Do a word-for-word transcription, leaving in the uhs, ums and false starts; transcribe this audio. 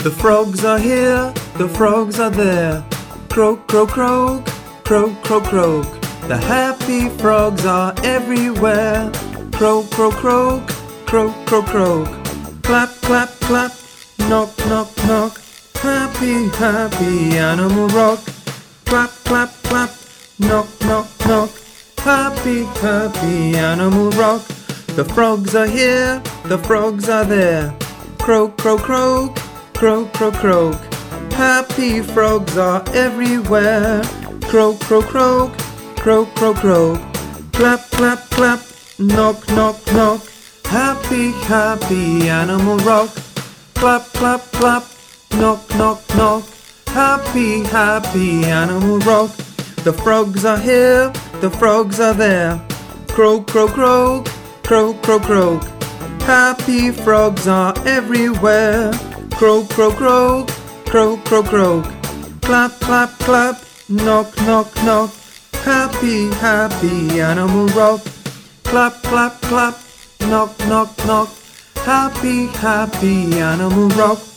The frogs are here, the frogs are there. Croak, croak, croak, croak, croak, croak. The happy frogs are everywhere. Croak, croak, croak, croak, croak, croak. Clap, clap, clap, knock, knock, knock. Happy, happy Animal Rock. Clap, clap, clap, knock, knock, knock. Happy, happy Animal Rock. The frogs are here, the frogs are there. Croak, croak, croak, croak, croak, croak. Happy frogs are everywhere. Croak, croak, croak, croak, croak, croak. Clap, clap, clap, knock, knock, knock. Happy, happy Animal Rock. Clap, clap, clap, knock, knock, knock. Happy, happy Animal Rock. The frogs are here, the frogs are there. Croak, croak, croak, croak, croak, croak. Happy frogs are everywhere. Croak, croak, croak, croak, croak, croak. Clap, clap, clap, knock, knock, knock. Happy, happy Animal Rock. Clap, clap, clap, knock, knock, knock. Happy, happy Animal Rock.